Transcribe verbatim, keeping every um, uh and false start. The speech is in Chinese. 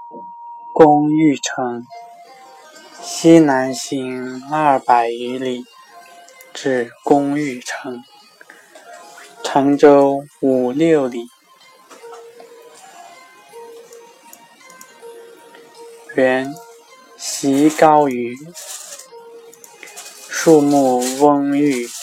公寓城，西南行二百余里，至公寓城，程州五六里。原习高于树木蓊郁，